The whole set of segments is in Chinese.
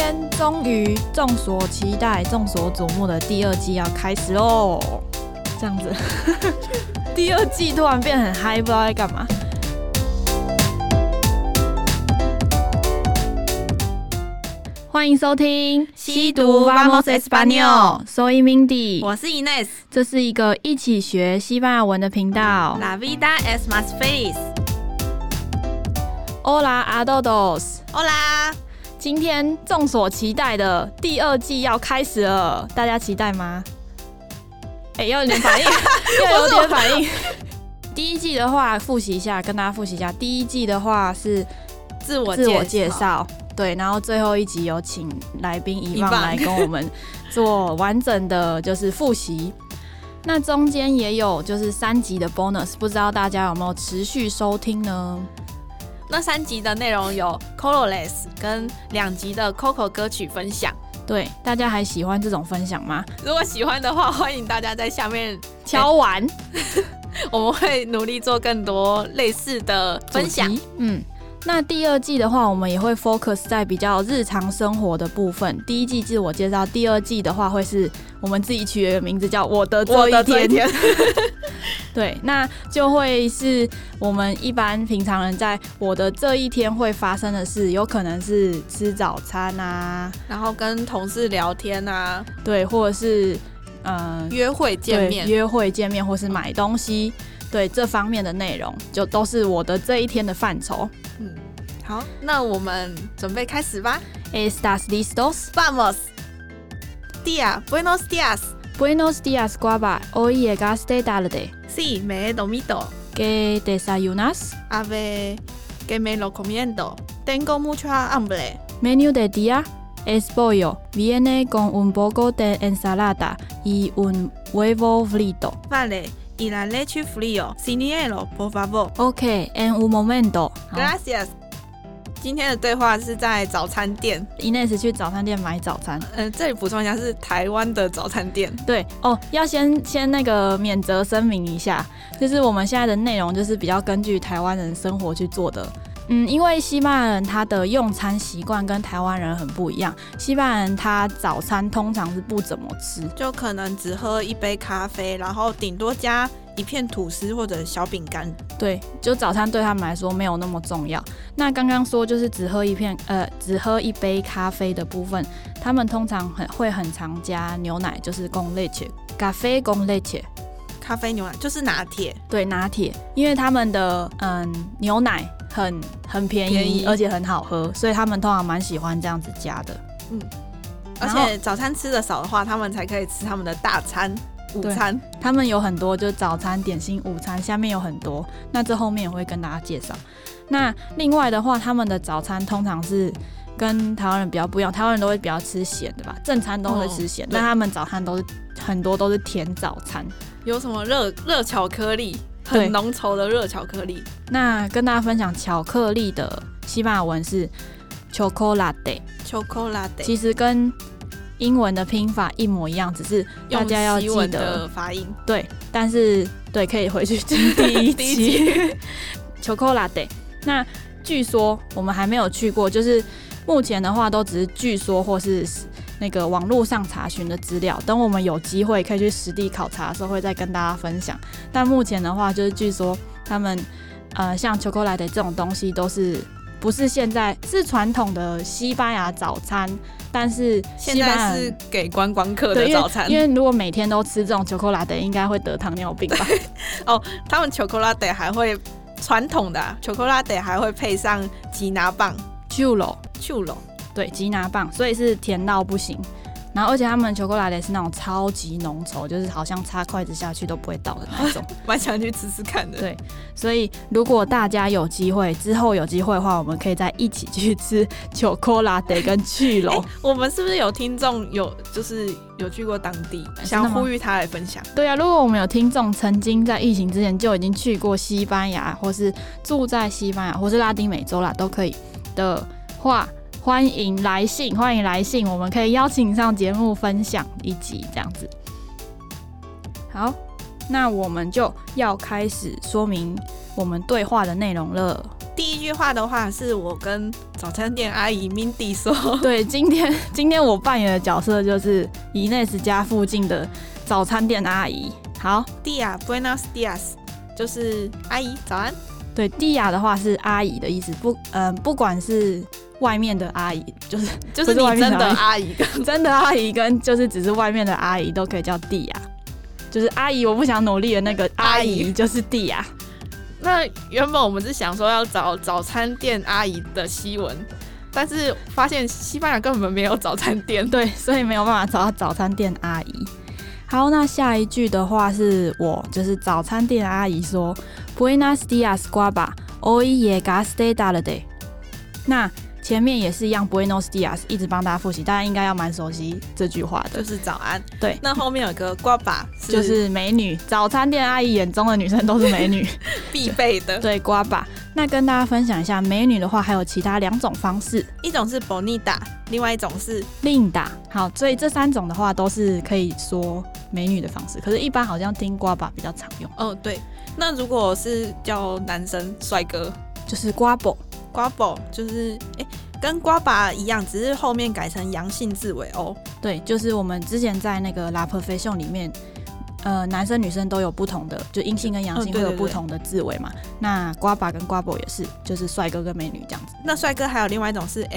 天終於眾所期待、眾所矚目的第二季要開始嘍！這樣子，第二季突然變很嗨，不知道在幹嘛。歡迎收聽西讀 Vamos Español，Soy Mindy， 我是 Ines， 這是一個一起學西班牙文的頻道。 La vida es más feliz。Hola a todos。Hola。今天众所期待的第二季要開始了，大家期待嗎？要有點反應，要有點反應。第一季的話，複習一下，跟大家複習一下。第一季的話是自我介紹，對，然後最後一集有請來賓遺忘來跟我們做完整的就是複習。那中間也有就是3集的 bonus， 不知道大家有沒有持續收聽呢？ 那3集的內容有 Colores 跟2集的 Coco 歌曲分享。 對，大家還喜歡這種分享嗎？ 如果喜歡的話，歡迎大家在下面敲完， 我們會努力做更多類似的分享。 那第二季的話，我們也會 focus 在比較日常生活的部分。第一季自我介紹，第二季的話會是我們自己取了一個名字叫我的這一天。对，那就會是我們一般平常人在我的這一天會發生的事，有可能是吃早餐啊， 然後跟同事聊天啊， 對，或者是約會見面，或是買東西，對，這方面的內容就都是我的這一天的範疇。 好，那我們準備開始吧。 ¿Estás listos? Vamos. Día, buenos días. Buenos días, guapa. Hoy llegaste tarde. Sí, me he dormido. ¿Qué desayunas? A ver, que me lo comiendo. Tengo mucha hambre. Menú de día es pollo. Viene con un poco de ensalada y un huevo frito. Vale, y la leche frío. Sin hielo, por favor. Ok, en un momento. Gracias. 今天的對話是在早餐店 ，Ines 去早餐店買早餐。 這裡補充一下，是台灣的早餐店。 對哦，要先那個免責聲明一下，就是我們現在的內容就是比較根據台灣人生活去做的。因為西班牙人他的用餐習慣跟台灣人很不一樣，西班牙人他早餐通常是不怎麼吃， 就可能只喝一杯咖啡，然後頂多加一片吐司或者小餅乾。 對，就早餐對他們來說沒有那麼重要。那剛剛說就是只喝一杯咖啡的部分，他們通常會很常加牛奶，就是 con leche，café con leche。 咖啡牛奶就是拿鐵， 對，拿鐵，因為他們的牛奶很便宜，而且很好喝，所以他們通常蠻喜歡這樣子加的。 而且早餐吃的少的話，他們才可以吃他們的大餐。午餐他們有很多，就是早餐、點心、午餐，下面有很多。那這後面也會跟大家介紹。那另外的話，他們的早餐通常是跟台灣人比較不一樣，台灣人都會比較吃鹹的吧，正餐都會吃鹹，但他們早餐很多都是甜早餐。 有什麼熱巧克力，很濃稠的熱巧克力。 那跟大家分享巧克力的西班牙文是 chocolate， 其實跟英文的拼法一模一樣，只是大家要記得用西文的發音。對， 但是對，可以回去聽第一集。chocolate。那據說我們還沒有去過，就是目前的話都只是據說或是那個網絡上查詢的資料，等我們有機會可以去實地考察的時候，會再跟大家分享。但目前的話，就是據說他們像 chocolate 這種東西都是不是現在是傳統的西班牙早餐，但是現在是給觀光客的早餐。 因為如果每天都吃這種 chocolate， 應該會得糖尿病吧？ 哦，他們 chocolate 還會傳統的chocolate 還會配上吉拿棒 churro。 對，吉拿棒，所以是甜到不行。然後而且他們 chocolate 是那種超級濃稠，就是好像插筷子下去都不會倒的那種。 蠻想去吃吃看的。 對，所以如果大家有機會，之後有機會的話，我們可以再一起去吃 chocolate 跟churro。 我們是不是有聽眾就是有去過當地，想呼籲他來分享？ 對啊，如果我們有聽眾曾經在疫情之前就已經去過西班牙，或是住在西班牙，或是拉丁美洲啦，都可以的話，歡迎來信，我們可以邀請上節目分享一集這樣子。好，那我們就要開始說明我們對話的內容了。 第一句話的話是我跟早餐店阿姨 Mindy 說， 對，今天我扮演的角色就是Inés家附近的早餐店阿姨。好 ，Dia Buenos Dias 就是阿姨早安。 对 ，Dia 的話是阿姨的意思，不管是外面的阿姨，就是你真的阿姨跟真的阿姨跟就是只是外面的阿姨都可以叫 Dia， 就是阿姨我不想努力的那個阿姨就是 Dia。 那原本我們是想說要找早餐店阿姨的西文，但是發現西班牙根本沒有早餐店， 对，所以沒有辦法找到早餐店阿姨。好，那下一句的話是就是早餐店阿姨說 Buenos dias, guapa. Hoy llegaste tarde。那前面也是一樣 Buenos dias， 一直幫大家複習，大家應該要蠻熟悉這句話的， 就是早安。 對， 那後面有個 guapa， 就是美女，早餐店阿姨眼中的女生都是美女， 必備的。 對 guapa。那跟大家分享一下，美女的話還有其他2種方式， 一種是 bonita， 另外一種是 linda。好，所以這3種的話都是可以說美女的方式，可是一般好像听 guapa 比較常用。 哦，对。那如果是叫男生帥哥， 就是 guapo， 就是跟 guapa 一樣，只是後面改成陽性字尾 o。 对，就是我們之前在那個 La Perfección裡面，男生女生都有不同的，就陰性跟陽性會有不同的字尾嘛。那 guapa 跟 guapo 也是，就是帥哥跟美女這樣子。 那帥哥還有另外一種是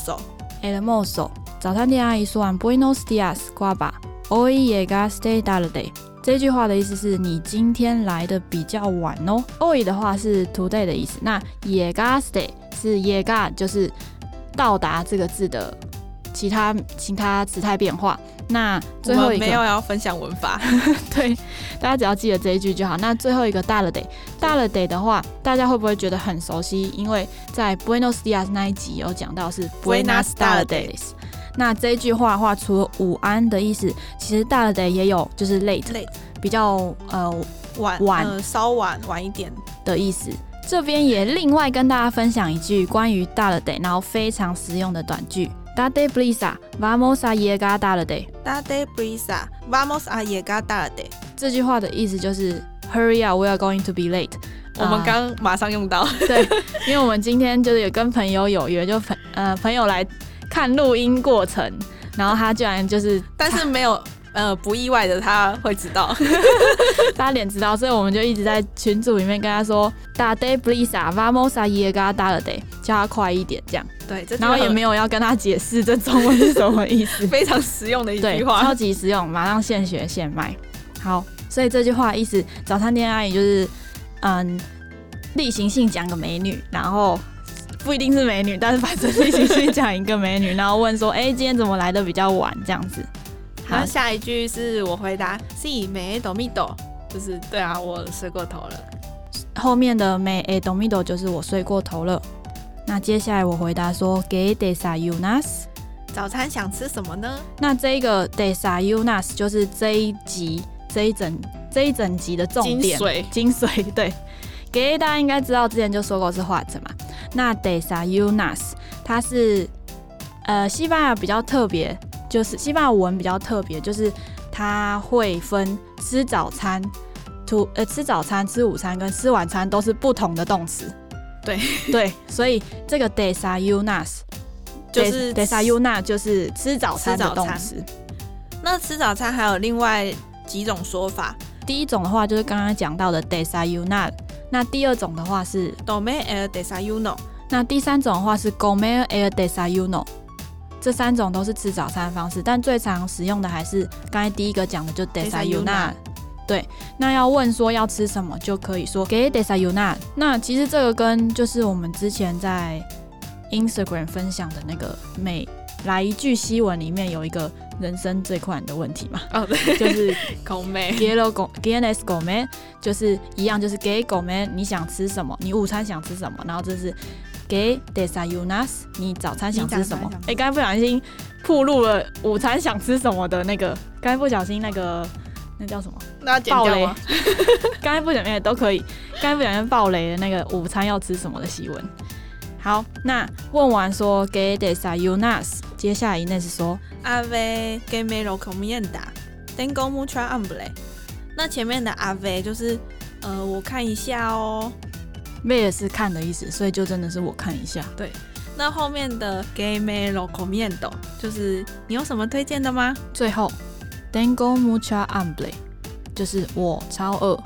hermoso。 早餐店阿姨說完 Buenos dias, guapa. Hoy llegaste tarde。這句話的意思是你今天來的比較晚哦。Hoy 的話是 today 的意思，那 llegaste 是 llegar， 就是到達這個字的其他詞態變化。那最後一個我們沒有要分享文法， 對，大家只要記得這一句就好。那最後一個 tarde 的話，大家會不會覺得很熟悉？因為在 Buenos dias 那一集有講到是 Buenas tardes。那這一句話的話，除了午安的意思，其實 tarde 也有就是 late 比較晚稍晚一點的意思。這邊也另外跟大家分享一句關於 tarde 然後非常實用的短句。Date prisa, vamos a llegar tarde. Date prisa, vamos a llegar tarde. 這句話的意思就是 Hurry up, we are going to be late. 我們剛馬上用到。 對，因為我們今天就是有跟朋友有約，就朋友來看錄音過程，然後他居然就是， 但是沒有不意外的他會知道， 他臉知道，所以我們就一直在群組裡面跟他說 Date prisa, vamos a llegar tarde， 叫他快一點這樣。 對， 然後也沒有要跟他解釋這中文是什麼意思， 非常實用的一句話， 超級實用，馬上現學現賣。好，所以這句話的意思，早餐店阿姨就是例行性講個美女，然後不一定是美女，但是反正例行性講一個美女，然後問說，今天怎麼來的比較晚這樣子。 好，下一句是我回答 Sí, me he dormido， 就是對啊，我睡過頭了。 後面的 me he dormido 就是我睡過頭了。那接下來我回答說 ¿Qué desayunas？ 早餐想吃什麼呢？ 那這個 desayunas 就是這一整集的重點精髓。對，給大家應該知道，之前就說過是 what 嘛。那 desayunas 它是西班牙比較特別，就是西班牙文比較特別，就是它會分吃早餐、吃早餐、吃午餐跟吃晚餐都是不同的動詞。對，所以這個 desayunas 就是 desayunar 就是吃早餐的動詞。 那吃早餐還有另外幾種說法。 第一種的話就是剛剛講到的 desayunar， 那第二種的話是 tomar el desayuno， 那第三種的話是 comer el desayuno。這3種都是吃早餐的方式，但最常使用的還是剛才第一個講的就 desayunar。對，那要問說要吃什麼，就可以說 ¿Qué desayunas？ 那其實這個跟就是我們之前在 Instagram 分享的那個每來一句西文裡面有一個人生最困難的問題嘛。 哦，對， 就是 comer ¿Quieres comer？ 就是一樣，就是 ¿Qué comer？ 你想吃什麼？你午餐想吃什麼？然後這是 ¿Qué desayunas？ 你早餐想吃什麼？剛才不小心暴露了午餐想吃什麼的那個，剛才不小心那叫什麼？ 那剪掉嗎？ 剛才不小心都可以，剛才不小心爆雷的那個午餐要吃什麼的西文。好，那問完說 ¿Qué desayunas？ 接下來Inés說 Ave que me lo comienda tengo mucha hambre。 那前面的 Ave 就是我看一下哦， ，ve 是看的意思，所以就真的是我看一下。 对， 那後面的 que me lo comiendo 就是你有什麼推薦的嗎？ 最後 tengo mucha hambre 就是我超餓，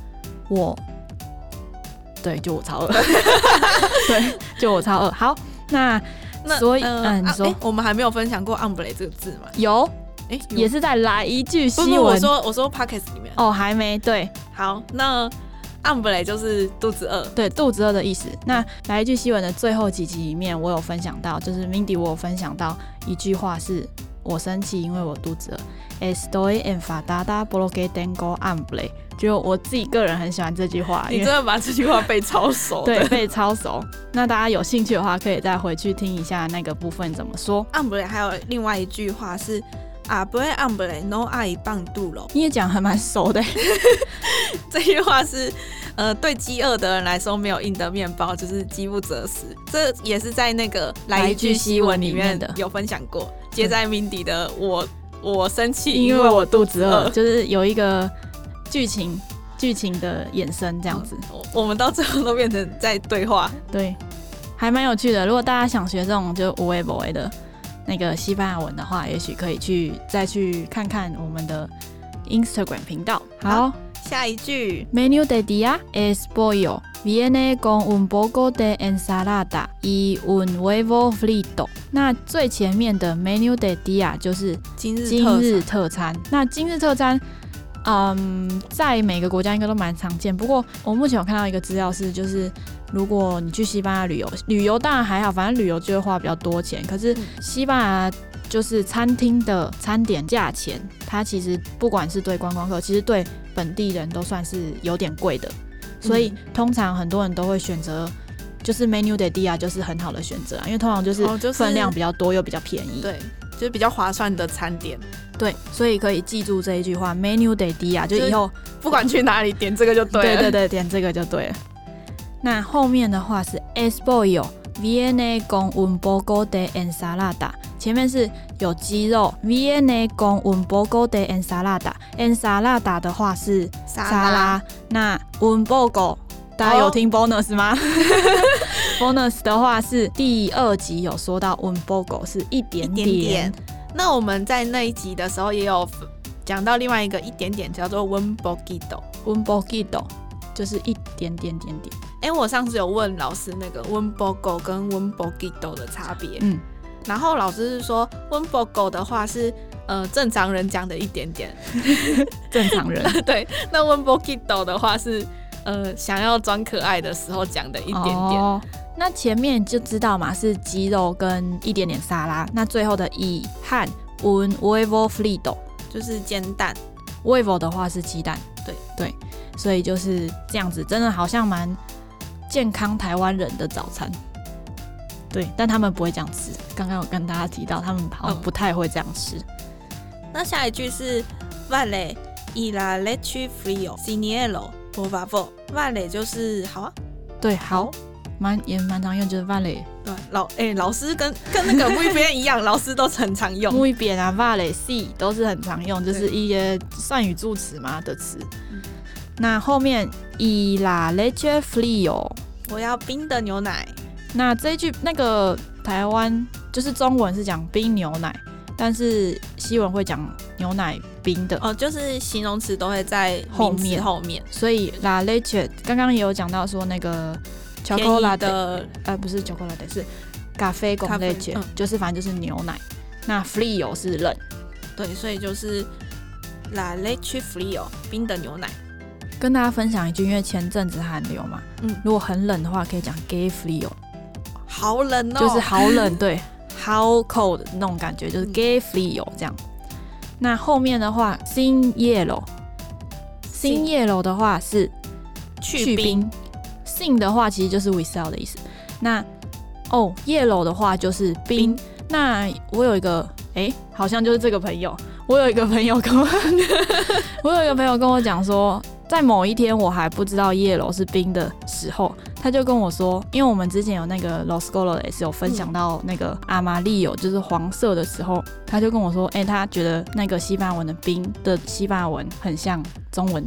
對，就我超餓，對，就我超餓。好，那所以你說我們還沒有分享過 hambre 這個字嗎？ 有，也是在來一句西文。 我說 podcast 裡面哦，還沒對。 好，那hambre就是肚子餓， 對，肚子餓的意思。那來一句西文的最後幾集裡面，我有分享到，就是 Mindy 我有分享到一句話是我生氣，因為我肚子餓。Estoy enfadada porque tengo hambre。就我自己個人很喜歡這句話， 你真的把這句話背超熟的。 對，背超熟。那大家有興趣的話，可以再回去聽一下那個部分怎麼說。 hambre還有另外一句話是 Abre hambre no hay pan duro。 你也講還蠻熟的。 這句話是對飢餓的人來說，沒有硬的麵包就是飢不擇食。這也是在那個來一句西文裡面有分享過。接在 Mindy 的我生氣，因為我肚子餓，就是有一個劇情的衍生這樣子。我們到最後都變成在對話， 對，還蠻有趣的。如果大家想學這種就有的沒的的那個西班牙文的話，也許可以再去看看我們的 Instagram 頻道。好， 下一句 Menú del día es pollo, viene con un poco de ensalada y un huevo frito。那最前面的 Menú del día 就是今日特餐。那今日特餐在每個國家應該都蠻常見，不過我目前有看到一個資料是，就是如果你去西班牙旅遊當然還好，反正旅遊就會花比較多錢。可是西班牙就是餐廳的餐點價錢，它其實不管是對觀光客，其實對本地人都算是有點貴的，所以通常很多人都會選擇就是 Menú del día 就是很好的選擇，因為通常就是分量比較多又比較便宜， 對，就是比較划算的餐點。 对，所以可以記住這一句話 Menú del día 就以後不管去哪裡點這個就對了。 對，點這個就對了。那後面的話是 Es pollo, viene con un poco de ensalada。前面是有雞肉 viene con un poco de ensalada。ensalada 的話是沙拉。那 un poco 大家有聽 bonus 嗎？bonus 的話是第2集有說到 un poco 是一點點。 那我們在那一集的時候也有講到另外一個一點點叫做 un poquito。un poquito 就是一點點。 我上次有問老師那個 un poco 跟 un poquito 的差別。然後老師是說 un poco 的話是正常人講的一點點。 正常人。對， 那 un poquito 的話是想要裝可愛的時候講的一點點。 那前面就知道嘛，是雞肉跟一點點沙拉。那最後的y和 un huevo frito 就是煎蛋。huevo 的話是雞蛋。對，所以就是這樣子，真的好像蠻健康台灣人的早餐。對，但他們不會這樣吃。剛剛有跟大家提到，他們好像不太會這樣吃。 那下一句是 Vale y la leche frío sin hielo por favor。Vale 就是好啊。 对，好。也蠻常用，就是 vale。 對，老師跟那個 muy bien 一樣，老師都很常用。 muy bien 啊 ，vale、sí 都是很常用，就是一些善語助詞嘛的詞。那後面 y la leche frío， 我要冰的牛奶。 那這一句那個台灣就是中文是講冰牛奶，但是西文會講牛奶冰的。 就是形容詞都會在後面。 所以 la leche 剛剛也有講到說那個。chocolate 不是 chocolate 是 café con leche，就是反正就是牛奶。那 frío 是冷， 对，所以就是 la leche frío 冰的牛奶。 跟大家分享一句，因為前陣子寒流嘛，如果很冷的話，可以講 que frío， 好冷哦， 就是好冷，對，how cold 那種感覺，就是 que frío 這樣。那後面的話 sin hielo，sin hielo 的話是去冰。sin 的話其實就是 without 的意思。那yellow 的話就是冰。那我有一個好像就是這個朋友，我有一個朋友跟我講說，在某一天我還不知道 yellow 是冰的時候，他就跟我說，因為我們之前有那個 Los Colores 有分享到那個 amarillo 就是黃色的時候，他就跟我說他覺得那個西班牙文的冰的西班牙文很像中文的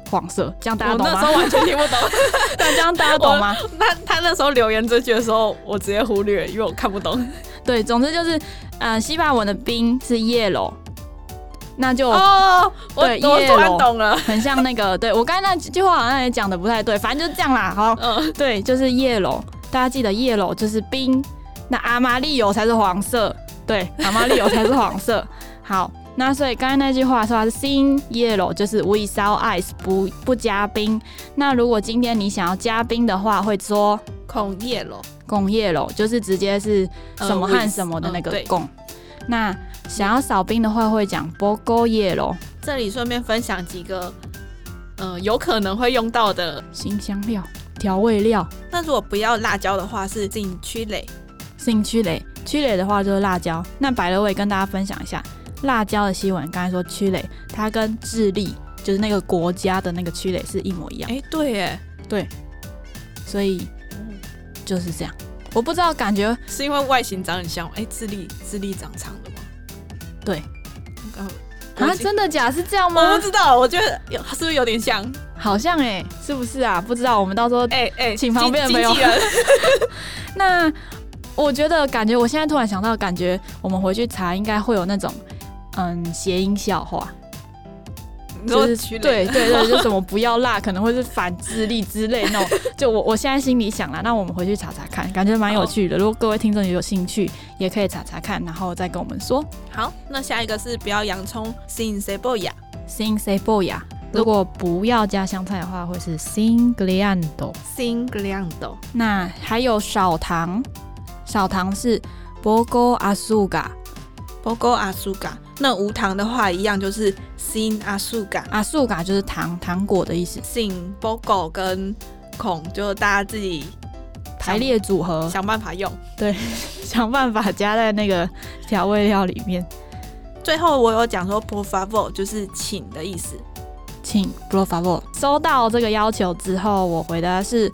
黃色，這樣大家懂嗎？ 我那時候完全聽不懂。 對，這樣大家懂嗎？ 他那時候留言這句的時候，我直接忽略，因為我看不懂。 对，總之就是西班牙文的冰是 yellow。那就我突然懂了， 很像那個，对，我剛才那句話好像也講的不太對，反正就是這樣啦。好，對，就是 yellow， 大家記得 yellow 就是冰，那阿瑪利歐才是黃色，對，阿瑪利歐才是黃色。好，那所以剛才那句話說它是 sin yellow， 就是 without ice， 不加冰。那如果今天你想要加冰的話，會說 con yellow，con yellow 就是直接是什麼和什麼的那個con。那想要少冰的話，會講 poco hielo。 這裡順便分享幾個有可能會用到的辛香料、調味料。 那如果不要辣椒的話，是 sin chile。sin chile 的話就是辣椒。那by the way跟大家分享一下，辣椒的西文，剛才說 chile， 它跟智利就是那個國家的那個 chile 是一模一樣。 對耶， 對，所以就是這樣。我不知道，感覺是因為外形長很像。智利長長的嗎？ 对。真的假的？是這樣嗎？ 我不知道，我覺得是不是有點像？ 好像是不是啊？不知道，我們到時候請旁邊的朋友。那我覺得，感觉我現在突然想到，感覺我們回去查，應該會有那種諧音笑話。就是對，就什麼不要辣，可能會是反智利之類那種。就我現在心裡想啦，那我們回去查查看，感覺蠻有趣的。如果各位聽眾有興趣，也可以查查看，然後再跟我們說。 好，那下一個是不要洋蔥 sin cebolla。sin cebolla， 如果不要加香菜的話，會是 sin grillado。sin grillado。 那還有少糖是 poco azúcar。poco azúcar。 那無糖的話一樣就是 sin azúcar。azúcar 就是糖果的意思。 sin poco 跟con 就大家自己排列組合， 想辦法用。对， 想辦法加在那個調味料裡面。 最後我有講說 por favor 就是請的意思。 請 por favor。收到這個要求之後，我回答是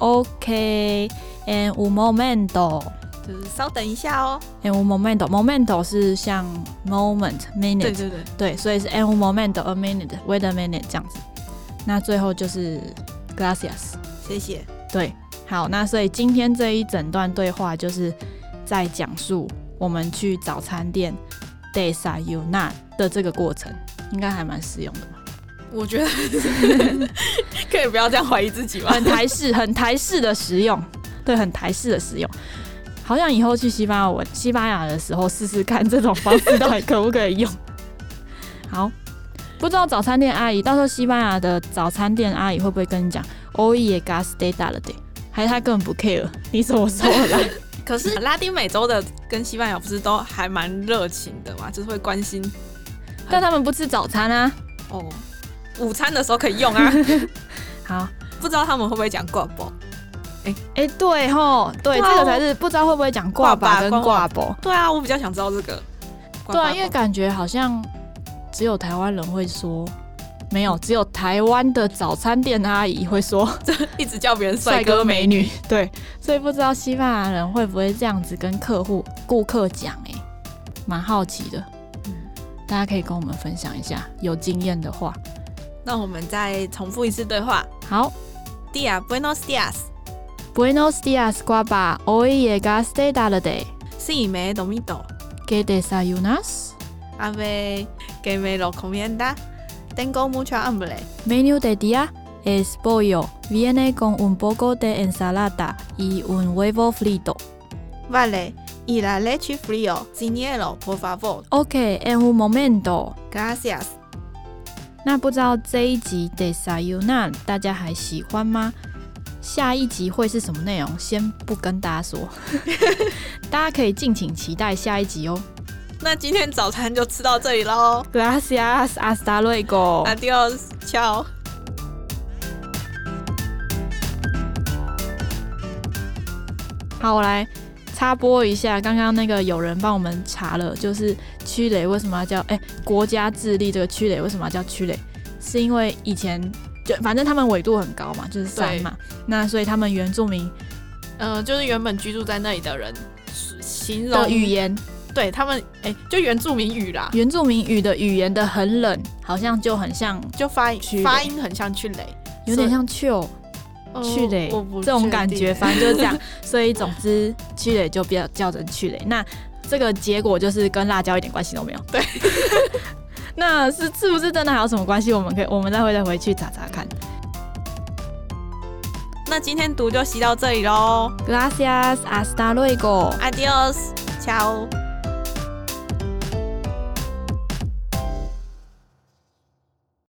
OK en un momento。 就是稍等一下哦。 en un momento 是像 moment minute， 對，所以是 en un momento a minute wait a minute 這樣子。那最後就是 gracias， 謝謝。 對，好，那所以今天這一整段對話就是在講述我們去早餐店 desayunar 的這個過程，應該還蠻實用的吧？ 我覺得可以不要這樣懷疑自己嗎？ 很台式的實用，對，很台式的實用。好像以後去西班牙的時候試試看這種方式到底可不可以用。好，不知道早餐店阿姨，到時候西班牙的早餐店阿姨会不會跟你講 Hoy llegaste tarde， 還是他根本不 care 你什麼時候來？ 可是拉丁美洲的跟西班牙不是都還蠻熱情的嘛，就是會關心。 但他們不吃早餐啊。 哦，午餐的時候可以用啊。 好， 不知道他們會不會講掛包。 對齁，對，這個才是不知道會不會講掛把跟掛包。 對啊，我比較想知道這個。 對啊，因為感覺好像只有台灣人會說，沒有，只有台灣的早餐店阿姨會說， 一直叫別人帥哥美女。 對，所以不知道西班牙人會不會這樣子跟顧客講，蠻好奇的。大家可以跟我們分享一下，有經驗的話。 那我們再重複一次對話。 好 ，Dia buenos días。Buenos días, guapa. Hoy llegaste tarde. Sí, me he dormido. ¿Qué desayunas? A ver, ¿qué me lo recomienda? Tengo mucha hambre. Menú de día es pollo. Viene con un poco de ensalada y un huevo frito. Vale. Y la leche frío, sin hielo, por favor. Ok, en un momento. Gracias. 那不知道這一集 desayunar 大家還喜歡嗎？下一集會是什麼內容？先不跟大家說，大家可以敬請期待下一集哦。 那今天早餐就吃到這裡嘍。 Gracias, hasta luego. Adiós, chao. 好，我來插播一下，剛剛那個有人幫我們查了，就是區雷為什麼要叫國家智利這個區雷為什麼要叫區雷？是因為以前就反正他們緯度很高嘛，就是山嘛，那所以他們原住民， 就是原本居住在那裡的人形容的語言， 對他們，就原住民語啦。 原住民語的語言的很冷，好像就很像， 就发音很像去雷， 有點像去雷這種感覺，反正就是這樣。所以總之去雷就比較叫成去雷。那這個結果就是跟辣椒一點關係都沒有。 對。 那是不是真的還有什麼關係？我們再回去查查看。 那今天讀就習到這裡嘍。 Gracias, hasta luego. Adiós, chao.